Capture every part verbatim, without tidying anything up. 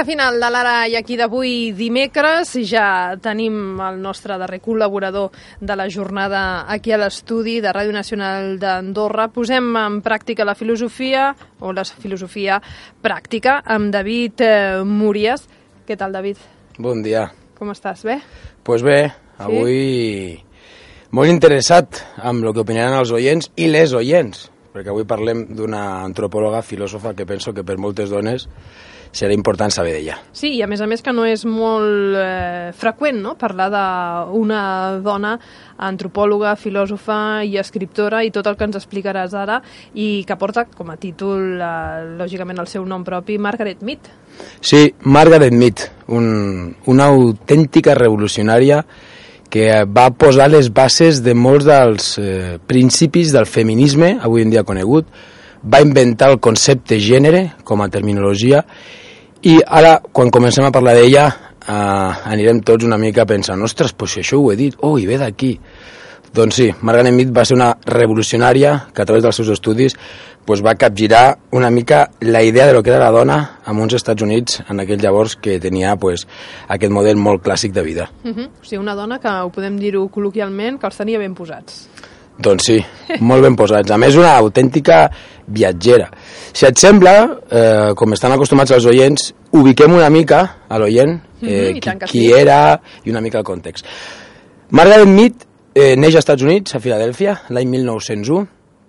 Recte final de l'Ara i aquí d'avui dimecres. Ja tenim el nostre darrer col·laborador de la jornada aquí a l'estudi de Ràdio Nacional d'Andorra. Posem en pràctica la filosofia, o la filosofia pràctica, amb David eh, Múries. Què tal, David? Bon dia. Com estàs? Bé? Doncs pues bé, avui sí? Molt interessat amb el que opinaran els oients i les oients, perquè avui parlem d'una antropòloga, filòsofa, que penso que per moltes dones serà important saber d'ella. Sí, i a més a més que no és molt eh, freqüent, no?, parlar d'una dona antropòloga, filòsofa i escriptora, i tot el que ens explicaràs ara, i que porta com a títol, eh, lògicament, el seu nom propi, Margaret Mead. Sí, Margaret Mead, un, una autèntica revolucionària que va posar les bases de molts dels eh, principis del feminisme, avui en dia conegut, va inventar el concepte gènere com a terminologia, i ara, quan comencem a parlar d'ella, eh, anirem tots una mica pensant, ostres, pues això ho he dit, oh, i ve d'aquí. Doncs sí, Margaret Mead va ser una revolucionària que a través dels seus estudis pues, va capgirar una mica la idea de lo que era la dona en uns Estats Units en aquell llavors que tenia pues, aquest model molt clàssic de vida. Uh -huh. O sigui, una dona que, ho podem dir-ho col·loquialment, que els tenia ben posats. Doncs sí, molt ben posats. A més, una autèntica viatgera. Si et sembla, eh, com estan acostumats els oients, ubiquem una mica a l'oient eh, mm -hmm, qui, qui era i una mica el context. Margaret Mead eh, neix als Estats Units, a Filadèlfia, l'any mil nou-cents u,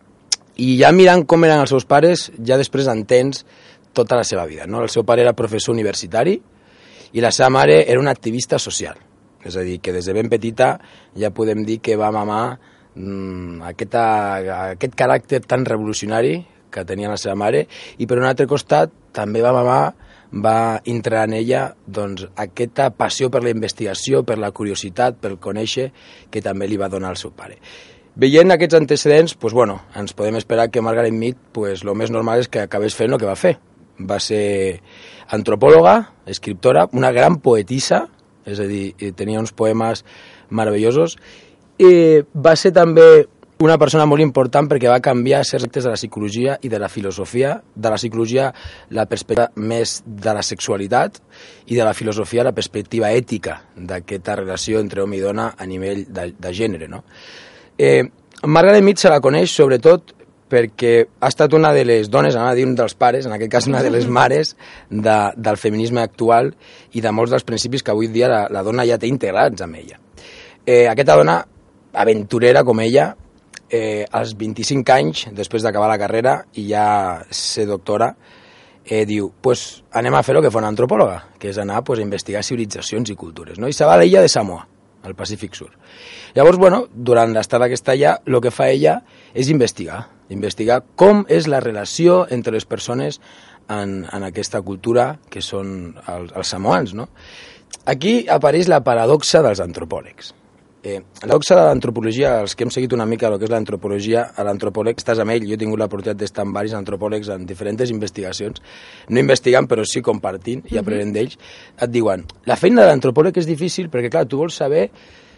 i ja mirant com eren els seus pares, ja després entens tota la seva vida. No? El seu pare era professor universitari i la seva mare era una activista social. És a dir, que des de ben petita ja podem dir que va mamar Aquest, aquest caràcter tan revolucionari que tenia la seva mare, i per un altre costat també va mamar, va entrar en ella doncs, aquesta passió per la investigació, per la curiositat, per conèixer, que també li va donar el seu pare. Veient aquests antecedents, pues, bueno, ens podem esperar que Margaret Mead, pues, el més normal és que acabés fent el que va fer. Va ser antropòloga, escriptora, una gran poetissa, és a dir, tenia uns poemes meravellosos, i va ser també una persona molt important perquè va canviar certs aspectes de la psicologia i de la filosofia. De la psicologia, la perspectiva més de la sexualitat, i de la filosofia, la perspectiva ètica d'aquesta relació entre home i dona a nivell de, de gènere. No? Eh, Margaret Mead se la coneix sobretot perquè ha estat una de les dones, anava a dir un dels pares, en aquest cas una de les mares de, del feminisme actual i de molts dels principis que avui dia la, la dona ja té integrats amb ella. Eh, aquesta dona aventurera com ella, eh, als vint-i-cinc anys, després d'acabar la carrera i ja ser doctora, eh, diu, pues anem a fer el que fa una antropòloga, que és anar pues, a investigar civilitzacions i cultures, no? I se va a l'illa de Samoa, al Pacífic Sur. Llavors, bueno, durant l'estada que està allà, el que fa ella és investigar, investigar com és la relació entre les persones en, en aquesta cultura que són els, els samoans, no? Aquí apareix la paradoxa dels antropòlegs. Eh, la paradoxa de l'antropologia, els que hem seguit una mica el que és l'antropologia, a l'antropòleg estàs amb ell, jo he tingut l'oportunitat d'estar amb diversos antropòlegs en diferents investigacions, no investigant però sí compartint i aprenent d'ells, et diuen, la feina de l'antropòleg és difícil perquè clar, tu vols saber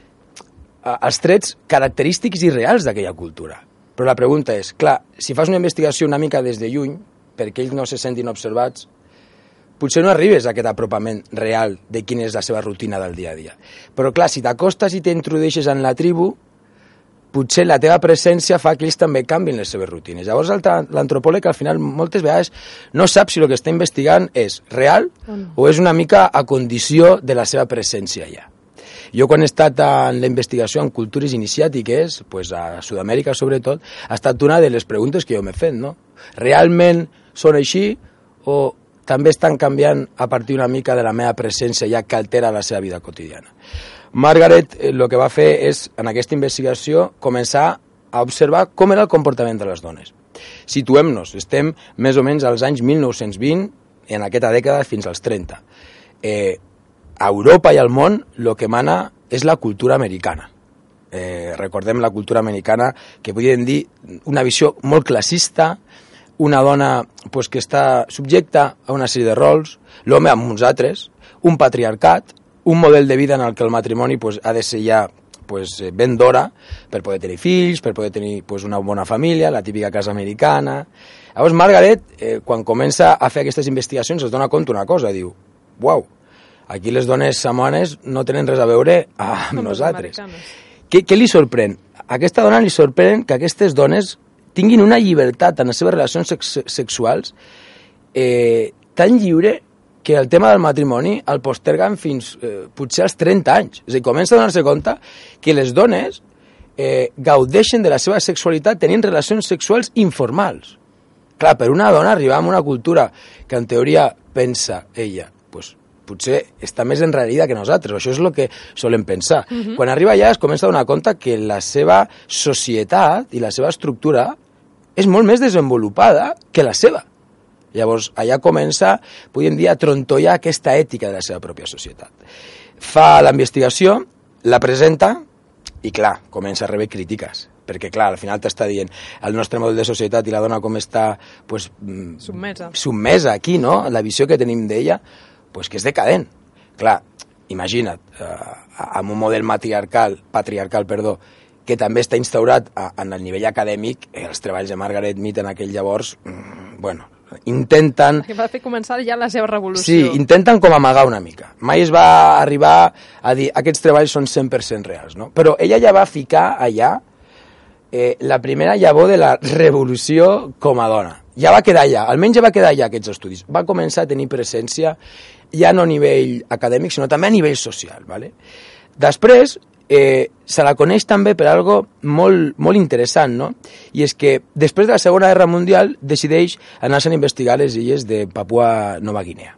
els trets característics i reals d'aquella cultura, però la pregunta és, clar, si fas una investigació una mica des de lluny, perquè ells no se sentin observats, potser no arribes a aquest apropament real de quina és la seva rutina del dia a dia. Però clar, si t'acostes i t'introdueixes en la tribu, potser la teva presència fa que ells també canvin les seves rutines. Llavors l'antropòleg al final moltes vegades no sap si el que està investigant és real o és una mica a condició de la seva presència allà. Jo quan he estat en la investigació en cultures iniciàtiques, pues a Sud-amèrica sobretot, ha estat una de les preguntes que jo m'he fet, no? Realment són així o també estan canviant a partir una mica de la meva presència ja que altera la seva vida quotidiana. Margaret el que va fer és, en aquesta investigació, començar a observar com era el comportament de les dones. Situem-nos, estem més o menys als anys mil nou-cents vint, en aquesta dècada fins als trenta. Eh, a Europa i al món el que mana és la cultura americana. Eh, recordem la cultura americana, que podríem dir una visió molt classista, una dona pues, que està subjecta a una sèrie de rols, l'home amb uns altres, un patriarcat, un model de vida en el que el matrimoni pues, ha de ser ja pues, ben d'hora per poder tenir fills, per poder tenir pues, una bona família, la típica casa americana. Llavors Margaret, eh, quan comença a fer aquestes investigacions, es dona compte una cosa, diu, uau, aquí les dones samoanes no tenen res a veure amb nosaltres. Què, què li sorprèn? A aquesta dona li sorprèn que aquestes dones tinguin una llibertat en les seves relacions sex sexuals eh, tan lliure que el tema del matrimoni el posterguen fins eh, potser als trenta anys. És a dir, comença a donar-se compte que les dones eh, gaudeixen de la seva sexualitat tenint relacions sexuals informals. Clar, per una dona arribar a una cultura que en teoria pensa ella, pues, potser està més enrarida que nosaltres, això és el que solem pensar. Uh-huh. Quan arriba allà es comença a donar compte que la seva societat i la seva estructura és molt més desenvolupada que la seva. Llavors, allà comença, podríem dir, a trontollar aquesta ètica de la seva pròpia societat. Fa la investigació, la presenta i, clar, comença a rebre crítiques. Perquè, clar, al final t'està dient el nostre model de societat i la dona com està pues, submesa. submesa aquí, no? La visió que tenim d'ella, pues que és decadent. Clar, imagina't, eh, amb un model matriarcal, patriarcal, perdó, que també està instaurat a, en el nivell acadèmic, eh, els treballs de Margaret Mead en aquell llavors, mm, bueno, intenten... Que va fer començar ja la seva revolució. Sí, intenten com amagar una mica. Mai es va arribar a dir aquests treballs són cent per cent reals, no? Però ella ja va ficar allà eh, la primera llavor de la revolució com a dona. Ja va quedar allà, almenys ja va quedar allà aquests estudis. Va començar a tenir presència ja no a nivell acadèmic, sinó també a nivell social. ¿Vale? Després, eh, se la coneix també per algo molt, molt interessant, no? I és que després de la Segona Guerra Mundial decideix anar-se'n a investigar les illes de Papua Nova Guinea.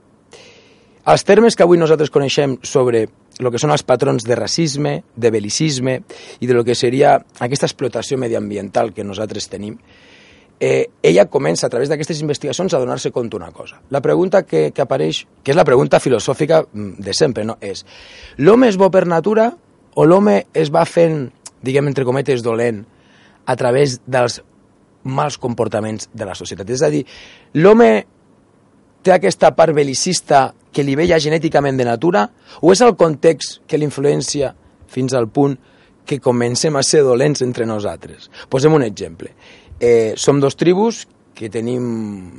Els termes que avui nosaltres coneixem sobre el que són els patrons de racisme, de bel·licisme i de lo que seria aquesta explotació mediambiental que nosaltres tenim, eh, ella comença a través d'aquestes investigacions a donar-se compte una cosa. La pregunta que, que apareix, que és la pregunta filosòfica de sempre, no? És l'home és bo per natura o l'home es va fent, diguem entre cometes, dolent a través dels mals comportaments de la societat? És a dir, l'home té aquesta part bel·licista que li ve ja genèticament de natura o és el context que l'influencia fins al punt que comencem a ser dolents entre nosaltres? Posem un exemple. Eh, som dos tribus que tenim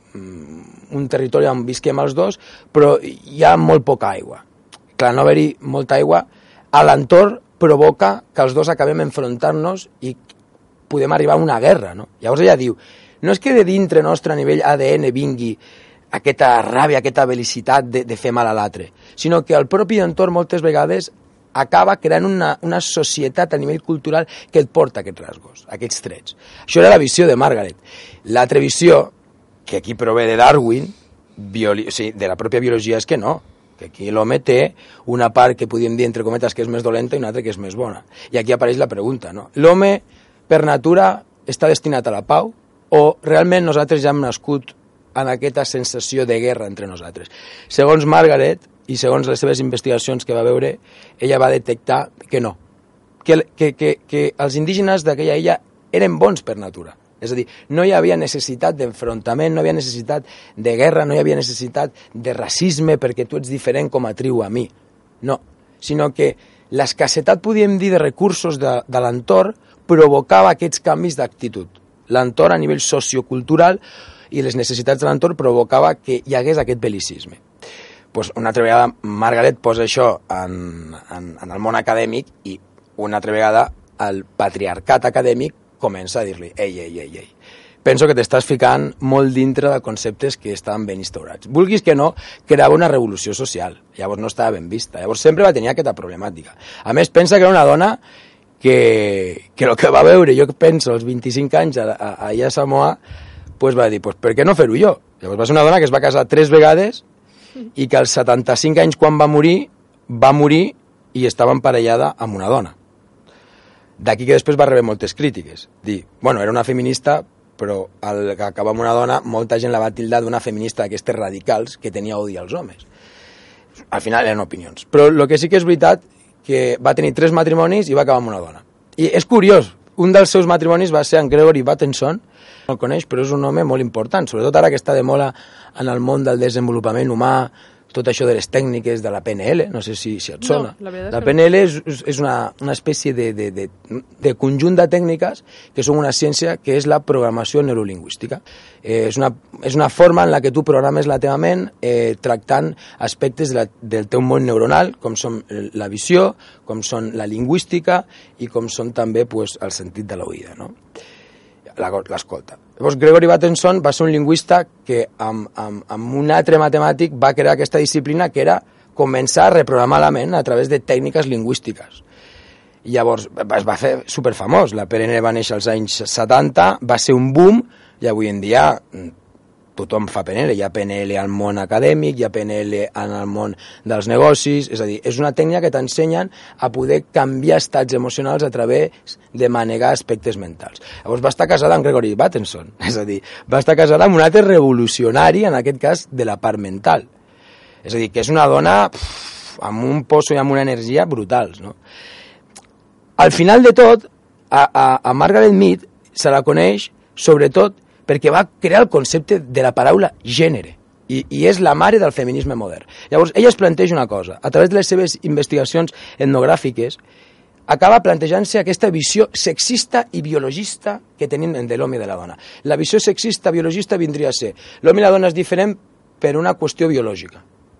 un territori on visquem els dos, però hi ha molt poca aigua. Clar, no haver-hi molta aigua a l'entorn provoca que els dos acabem enfrontant-nos i podem arribar a una guerra, no? Llavors ella diu, no és que de dintre nostre a nivell A D N vingui aquesta ràbia, aquesta velicitat de, de fer mal a l'altre, sinó que el propi entorn moltes vegades acaba creant una, una societat a nivell cultural que et porta aquests rasgos, aquests trets. Això era la visió de Margaret. L'altra visió, que aquí prové de Darwin, bioli... o sigui, de la pròpia biologia, és que no, que aquí l'home té una part que podríem dir, entre cometes, que és més dolenta i una altra que és més bona. I aquí apareix la pregunta, no? L'home, per natura, està destinat a la pau o realment nosaltres ja hem nascut en aquesta sensació de guerra entre nosaltres? Segons Margaret, i segons les seves investigacions que va veure, ella va detectar que no, que, que, que, que els indígenes d'aquella illa eren bons per natura. És a dir, no hi havia necessitat d'enfrontament, no hi havia necessitat de guerra, no hi havia necessitat de racisme perquè tu ets diferent com a tribu a mi. No, sinó que l'escassetat, podríem dir, de recursos de, de l'entorn provocava aquests canvis d'actitud. L'entorn a nivell sociocultural i les necessitats de l'entorn provocava que hi hagués aquest bel·licisme. Pues una altra vegada Margaret posa això en, en, en el món acadèmic i una altra vegada el patriarcat acadèmic comença a dir-li ei, ei, ei, ei. Penso que t'estàs ficant molt dintre de conceptes que estaven ben instaurats. Vulguis que no, creava una revolució social. Llavors no estava ben vista. Llavors sempre va tenir aquesta problemàtica. A més, pensa que era una dona que, que el que va veure, jo penso, als vint-i-cinc anys a, a, allà a Samoa, pues va dir, pues, per què no fer-ho jo? Llavors va ser una dona que es va casar tres vegades i que als setanta-cinc anys, quan va morir, va morir i estava emparellada amb una dona. D'aquí que després va rebre moltes crítiques. Dir, bueno, era una feminista, però al acabar amb una dona, molta gent la va tildar d'una feminista d'aquestes radicals que tenia odi als homes. Al final eren opinions. Però el que sí que és veritat, que va tenir tres matrimonis i va acabar amb una dona. I és curiós, un dels seus matrimonis va ser en Gregory Bateson, no el coneix, però és un home molt important, sobretot ara que està de moda en el món del desenvolupament humà, tot això de les tècniques de la P N L, no sé si, si et sona. No, la, la P N L és, és una, una espècie de, de, de, de conjunt de tècniques que són una ciència que és la programació neurolingüística. Eh, és, una, és una forma en la que tu programes la teva ment eh, tractant aspectes de la, del teu món neuronal, com són la visió, com són la lingüística i com són també pues, el sentit de l'oïda, no? L'escolta. Llavors, Gregory Bateson va ser un lingüista que amb, amb, amb un altre matemàtic va crear aquesta disciplina que era començar a reprogramar la ment a través de tècniques lingüístiques. I llavors es va fer superfamós. La P N L va néixer als anys setanta, va ser un boom i avui en dia tothom fa P N L. Hi ha P N L al món acadèmic, hi ha P N L en el món dels negocis, és a dir, és una tècnica que t'ensenyen a poder canviar estats emocionals a través de manegar aspectes mentals. Llavors va estar casada amb Gregory Bateson, és a dir, va estar casada amb un altre revolucionari, en aquest cas, de la part mental. És a dir, que és una dona pff, amb un poso i amb una energia brutals, no? Al final de tot, a, a, a Margaret Mead se la coneix, sobretot, perquè va crear el concepte de la paraula gènere, i, i és la mare del feminisme modern. Llavors, ella es planteja una cosa, a través de les seves investigacions etnogràfiques, acaba plantejant-se aquesta visió sexista i biologista que tenim de l'home i de la dona. La visió sexista biologista vindria a ser l'home i la dona és diferent per una qüestió biològica.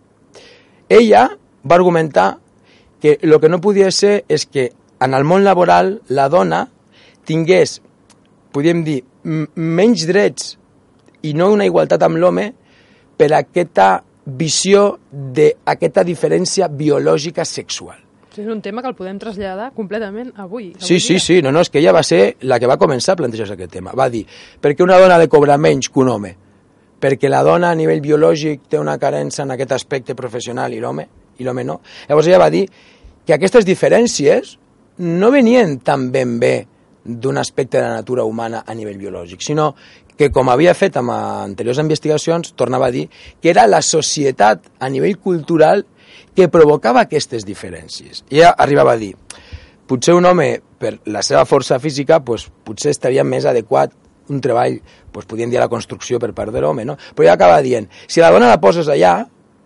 Ella va argumentar que el que no podia ser és que en el món laboral la dona tingués, podríem dir, menys drets i no una igualtat amb l'home per aquesta visió d'aquesta diferència biològica sexual. És un tema que el podem traslladar completament avui. avui sí, sí, sí, no, no, és que ella va ser la que va començar a plantejar aquest tema. Va dir, per què una dona ha de cobrar menys que un home? Perquè la dona a nivell biològic té una carència en aquest aspecte professional i l'home i l'home no. Llavors ella va dir que aquestes diferències no venien tan ben bé d'un aspecte de la natura humana a nivell biològic, sinó que, com havia fet amb anteriors investigacions, tornava a dir que era la societat a nivell cultural que provocava aquestes diferències. I ella arribava a dir, potser un home, per la seva força física, pues, potser estaria més adequat un treball, pues, podríem dir la construcció per part de l'home, no? Però ella acaba dient, si la dona la poses allà,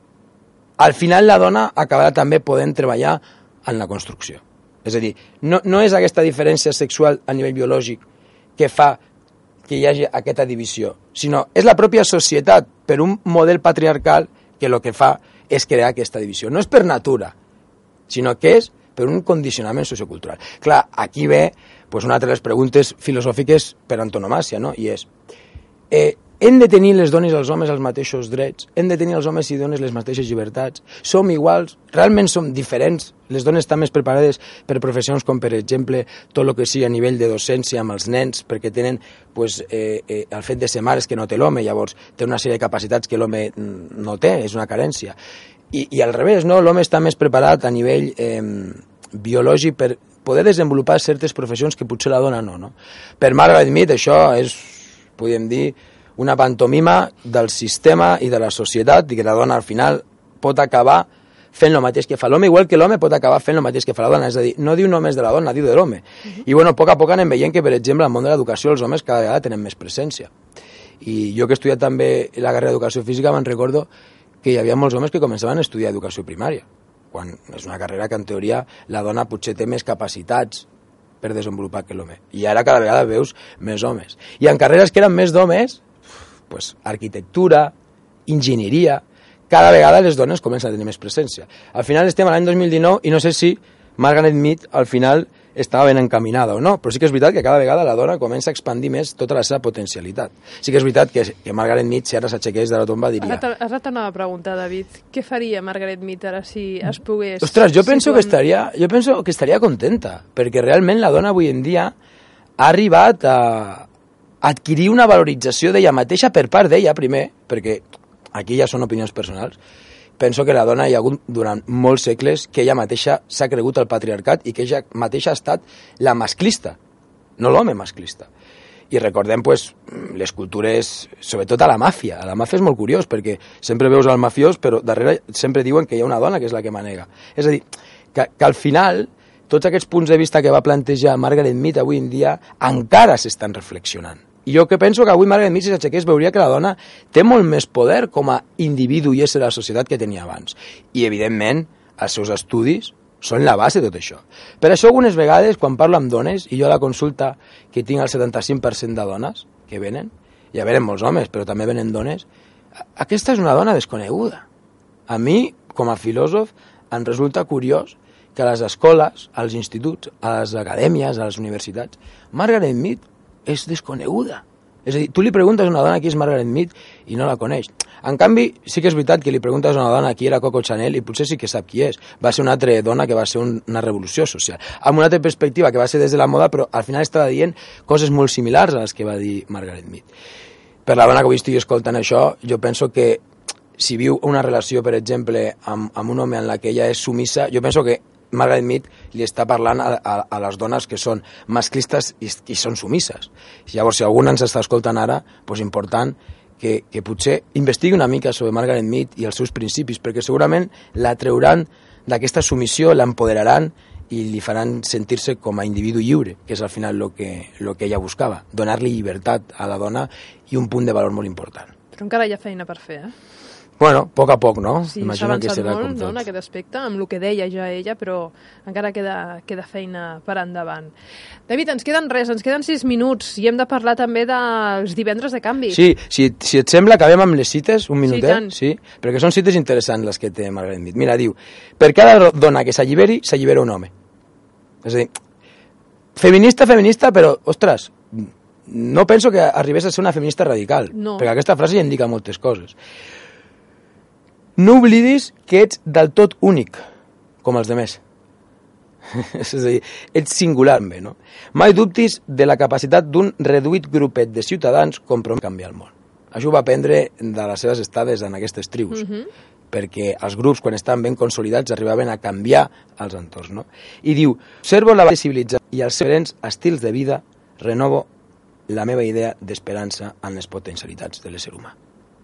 al final la dona acabarà també podent treballar en la construcció. És a dir, no, no és aquesta diferència sexual a nivell biològic que fa que hi hagi aquesta divisió, sinó és la pròpia societat per un model patriarcal que el que fa és crear aquesta divisió. No és per natura, sinó que és per un condicionament sociocultural. Clar, aquí ve pues, una de les preguntes filosòfiques per antonomàsia, no? I és, eh, hem de tenir les dones i els homes els mateixos drets? Hem de tenir els homes i dones les mateixes llibertats? Som iguals? Realment som diferents? Les dones estan més preparades per professions com, per exemple, tot el que sigui a nivell de docència amb els nens, perquè tenen pues, eh, eh, el fet de ser mares que no té l'home, llavors té una sèrie de capacitats que l'home no té, és una carència. I, i al revés, no? L'home està més preparat a nivell eh, biològic per poder desenvolupar certes professions que potser la dona no, no? Per Margaret Mead això és, podríem dir, una pantomima del sistema i de la societat i que la dona al final pot acabar fent el mateix que fa l'home, igual que l'home pot acabar fent el mateix que fa la dona, és a dir, no diu només de la dona, diu de l'home. Uh-huh. I bueno, a poc a poc anem veient que, per exemple, al món de l'educació els homes cada vegada tenen més presència. I jo que he estudiat també la carrera d'educació física me'n recordo que hi havia molts homes que començaven a estudiar educació primària, quan és una carrera que en teoria la dona potser té més capacitats per desenvolupar que l'home. I ara cada vegada veus més homes. I en carreres que eren més d'homes, pues, arquitectura, enginyeria, cada vegada les dones comencen a tenir més presència. Al final estem a l'any dos mil dinou i no sé si Margaret Mead al final estava ben encaminada o no, però sí que és veritat que cada vegada la dona comença a expandir més tota la seva potencialitat. Sí que és veritat que, que Margaret Mead, si ara s'aixequés de la tomba, diria... Has de tornar a preguntar, David, què faria Margaret Mead ara si es pogués... Ostres, jo penso, que estaria, jo penso que estaria contenta, perquè realment la dona avui en dia ha arribat a adquirir una valorització d'ella mateixa per part d'ella, primer, perquè aquí ja són opinions personals. Penso que la dona hi ha hagut durant molts segles que ella mateixa s'ha cregut el patriarcat i que ella mateixa ha estat la masclista, no l'home masclista. I recordem pues, les cultures, sobretot a la màfia. A la màfia és molt curiós perquè sempre veus el mafiós però darrere sempre diuen que hi ha una dona que és la que manega. És a dir, que, que al final tots aquests punts de vista que va plantejar Margaret Mead avui en dia encara s'estan reflexionant. I jo que penso que avui Margaret Mead, si s'aixequés, veuria que la dona té molt més poder com a individu i ésser a la societat que tenia abans. I, evidentment, els seus estudis són la base de tot això. Per això, algunes vegades, quan parlo amb dones, i jo a la consulta que tinc el setanta-cinc per cent de dones que venen, ja venen molts homes, però també venen dones, aquesta és una dona desconeguda. A mi, com a filòsof, em resulta curiós que a les escoles, als instituts, a les acadèmies, a les universitats, Margaret Mead és desconeguda. És a dir, tu li preguntes a una dona qui és Margaret Mead i no la coneix. En canvi, sí que és veritat que li preguntes a una dona qui era Coco Chanel i potser sí que sap qui és. Va ser una altra dona que va ser un, una revolució social. Amb una altra perspectiva que va ser des de la moda, però al final estava dient coses molt similars a les que va dir Margaret Mead. Per la dona que avui estigui escoltant això, jo penso que si viu una relació, per exemple, amb, amb un home en la que ella és sumissa, jo penso que Margaret Mead li està parlant a, a, a les dones que són masclistes i, i són sumisses. Llavors, si algú ens està escoltant ara, doncs important que, que potser investigui una mica sobre Margaret Mead i els seus principis, perquè segurament la treuran d'aquesta submissió, l'empoderaran i li faran sentir-se com a individu lliure, que és al final el que, lo que ella buscava, donar-li llibertat a la dona i un punt de valor molt important. Però encara hi ha feina per fer, eh? Bueno, a poc a poc, no? Sí, s'ha avançat molt, no, en aquest aspecte, amb el que deia ja ella, però encara queda, queda feina per endavant. David, ens queden res, ens queden sis minuts i hem de parlar també dels divendres de canvi. Sí, si, si et sembla, acabem amb les cites, un minutet, sí, sí, perquè són cites interessants les que té Margaret Mead. Mira, diu, per cada dona que s'alliberi, s'allibera un home. És a dir, feminista, feminista, però, ostres, no penso que arribés a ser una feminista radical, no. Perquè aquesta frase ja indica moltes coses. No oblidis que ets del tot únic, com els demés. És a dir, ets singular, bé, no? Mai dubtis de la capacitat d'un reduït grupet de ciutadans compromès a canviar el món. Això ho va aprendre de les seves estades en aquestes tribus, uh-huh. perquè els grups, quan estaven ben consolidats, arribaven a canviar els entorns, no? I diu, observo la civilitzar i els diferents estils de vida, renovo la meva idea d'esperança en les potencialitats de l'ésser humà.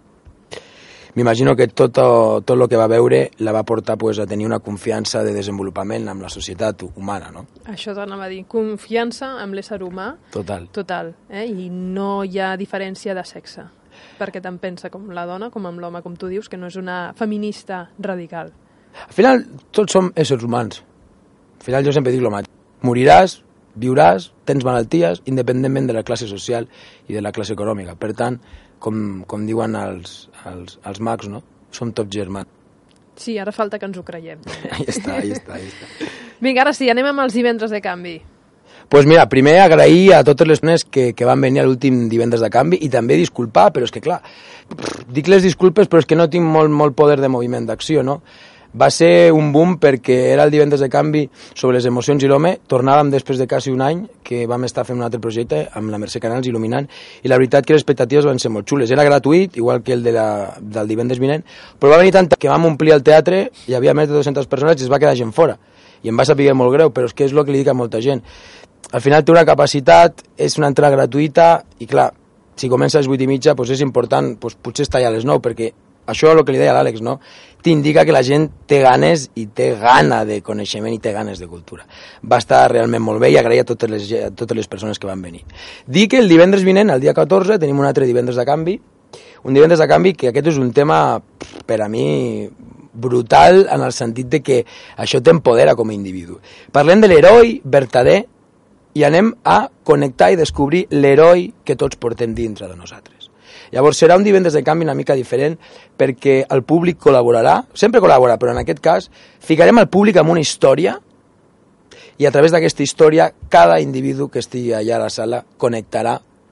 M'imagino que tot, tot el que va veure la va portar pues, a tenir una confiança de desenvolupament amb la societat humana, no? Això t'anava a dir, confiança amb l'ésser humà. Total. Total, eh? I no hi ha diferència de sexe, perquè tant pensa com la dona com amb l'home, com tu dius, que no és una feminista radical. Al final, tots som éssers humans. Al final jo sempre dic el mateix. Moriràs, viuràs, tens malalties, independentment de la classe social i de la classe econòmica. Per tant, com, com diuen els, els, els mags, no? Som tots germans. Sí, ara falta que ens ho creiem. Ahí està, ahí està, ahí està. Vinga, ara sí, anem amb els divendres de canvi. Doncs pues mira, primer agrair a totes les persones que, que van venir a l'últim divendres de canvi i també disculpar, però és que clar, dic les disculpes però és que no tinc molt, molt poder de moviment d'acció, no? Va ser un boom perquè era el divendres de canvi sobre les emocions i l'home. Tornàvem després de quasi un any que vam estar fent un altre projecte amb la Mercè Canals il·luminant i la veritat que les expectatives van ser molt xules. Era gratuït, igual que el de la, del divendres vinent, però va venir tant que vam omplir el teatre, hi havia més de dues-centes persones i es va quedar gent fora. I em va saber molt greu, però és que és el que li dic a molta gent. Al final té una capacitat, és una entrada gratuïta i clar, si comença a les vuit i mitja doncs és important, doncs potser estar allà a les nou, perquè això és el que li deia a l'Àlex, no? T'indica que la gent té ganes i té gana de coneixement i té ganes de cultura. Va estar realment molt bé i agrair a totes les, a totes les persones que van venir. Dic que el divendres vinent, el dia catorze, tenim un altre divendres de canvi, un divendres de canvi que aquest és un tema, per a mi, brutal en el sentit de que això t'empodera com a individu. Parlem de l'heroi vertader i anem a connectar i descobrir l'heroi que tots portem dintre de nosaltres. Llavors serà un divendres de canvi una mica diferent perquè el públic col·laborarà, sempre col·labora, però en aquest cas ficarem el públic en una història i a través d'aquesta història cada individu que estigui allà a la sala connectarà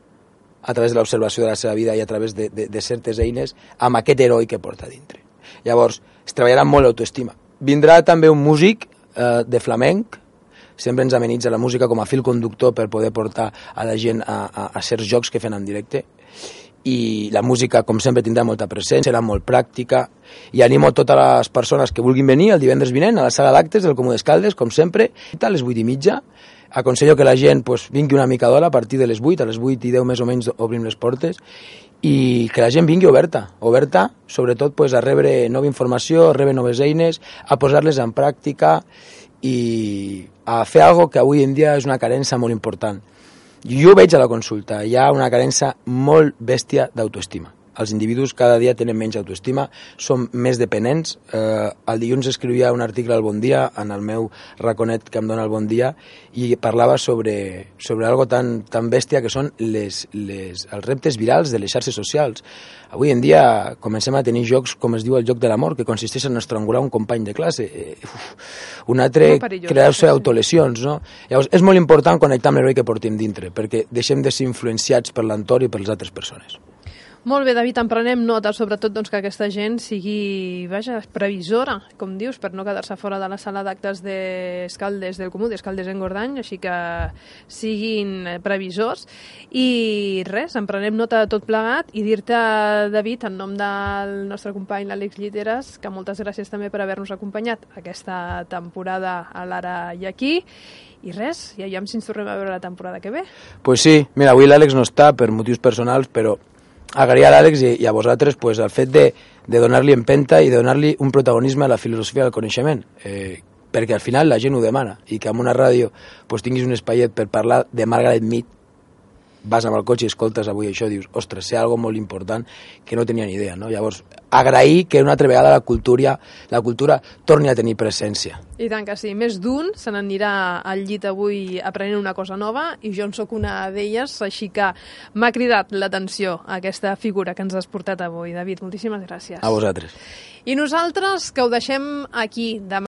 a través de l'observació de la seva vida i a través de, de, de certes eines amb aquest heroi que porta dintre. Llavors es treballarà molt l'autoestima. Vindrà també un músic eh, de flamenc, sempre ens amenitza la música com a fil conductor per poder portar a la gent a, a, a certs jocs que fem en directe. I la música, com sempre, tindrà molta presència, serà molt pràctica, i animo totes les persones que vulguin venir el divendres vinent a la sala d'actes del Comú d'Escaldes, com sempre, a les vuit i mitja. Aconsello que la gent pues, vingui una mica d'hora a partir de les vuit, a les vuit i deu més o menys obrim les portes, i que la gent vingui oberta, oberta, sobretot pues, a rebre nova informació, a rebre noves eines, a posar-les en pràctica i a fer alguna que avui en dia és una carència molt important. Jo ho veig a la consulta, hi ha una carència molt bèstia d'autoestima. Els individus cada dia tenen menys autoestima, són més dependents. Eh, el dilluns escrivia un article al Bon Dia, en el meu raconet que em dona el Bon Dia, i parlava sobre, sobre algo tan, tan bèstia que són les, les, els reptes virals de les xarxes socials. Avui en dia comencem a tenir jocs, com es diu el joc de l'amor, que consisteix en estrangular un company de classe. Eh, uf, un altre, crear-se autolesions, no? Llavors, és molt important connectar amb l'heroi que portem dintre, perquè deixem de ser influenciats per l'entorn i per les altres persones. Molt bé, David, en prenem nota, sobretot doncs, que aquesta gent sigui, vaja, previsora, com dius, per no quedar-se fora de la sala d'actes d'Escaldes del Comú, d'Escaldes en Gordany, així que siguin previsors. I res, en prenem nota de tot plegat i dir-te, David, en nom del nostre company l'Àlex Lliteres, que moltes gràcies també per haver-nos acompanyat aquesta temporada a l'Ara i Aquí. I res, ja aviam si ens tornem a veure la temporada que ve. Pues sí, mira, avui l'Àlex no està per motius personals, però agrair a l'Àlex i, i a vosaltres pues, el fet de, de donar-li empenta i de donar-li un protagonisme a la filosofia del coneixement, eh, perquè al final la gent ho demana, i que en una ràdio pues, tinguis un espaiet per parlar de Margaret Mead, vas amb el cotxe i escoltes avui això, dius, ostres, sé algo molt important que no tenia ni idea, no? Llavors, agrair que una altra vegada la cultura, la cultura torni a tenir presència. I tant que sí, més d'un se n'anirà al llit avui aprenent una cosa nova, i jo en sóc una d'elles, així que m'ha cridat l'atenció aquesta figura que ens has portat avui. David, moltíssimes gràcies. A vosaltres. I nosaltres, que ho deixem aquí demà.